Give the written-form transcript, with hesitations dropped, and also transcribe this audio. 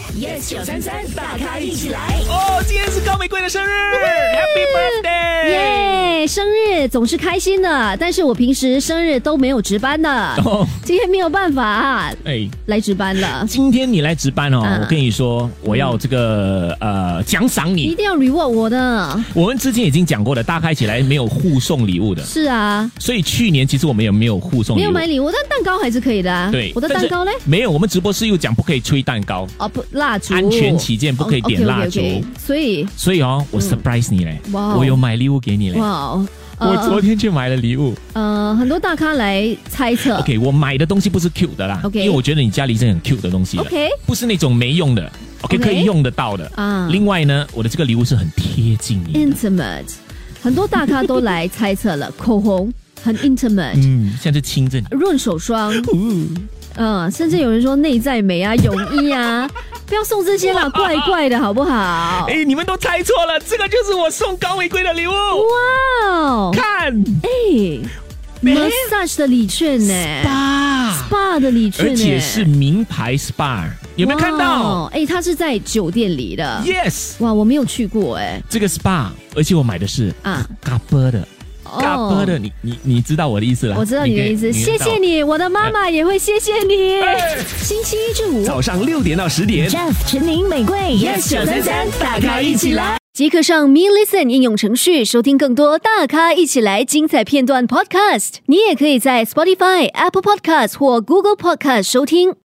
Yes 933大咖一起来哦，今天是高玫瑰的生日 ，Happy Birthday！ 耶，生日总是开心的，但是我平时生日都没有值班的，今天没有办法来值班了。 今天你来值班哦，我跟你说，我要这个奖赏你， 一定要 reward 我的。 我们之前已经讲过了，大咖一起来没有互送礼物的。 是啊， 所以去年其实我们也没有互送礼物， 没有买礼物，但蛋糕还是可以的啊。 对， 我的蛋糕呢？ 没有，我们直播室又讲不可以吹蛋糕哦，不，蜡烛， 安全起见不可以点蜡烛。 所以哦，我 surprise 你嘞，我有买礼物给你嘞。 哇， 我昨天去买了礼物。 很多大咖来猜测。 OK， 我买的东西不是 cute 的啦， OK， 因为我觉得你家里是很 cute 的东西的 ，OK， 不是那种没用的 ，OK， 可以用得到的啊。另外呢，我的这个礼物是很贴近你的 ，intimate， 很多大咖都来猜测了，口红很 intimate， 像是亲着你， 润手霜。甚至有人说内在美啊、泳衣啊，不要送这些啦，怪怪的好不好？ 你们都猜错了，这个就是我送高玫瑰的礼物。 哇， 看 ，massage 的礼券呢 ，spa 的礼券呢， 而且是名牌 spa， 有没有看到？ 它是在酒店里的 ，yes， 哇，我没有去过这个 spa， 而且我买的是嘎波的。嘎波的，你知道我的意思了？ 我知道你的意思，谢谢你，我的妈妈也会谢谢你。 星期一至五早上6点到10点 ，Jeff、陈宁、玫瑰 ，Yes 933大咖一起来， 即刻上 Me Listen 应用程序收听更多大咖一起来精彩片段 Podcast。你也可以在 Spotify、Apple Podcast 或 Google Podcast 收听。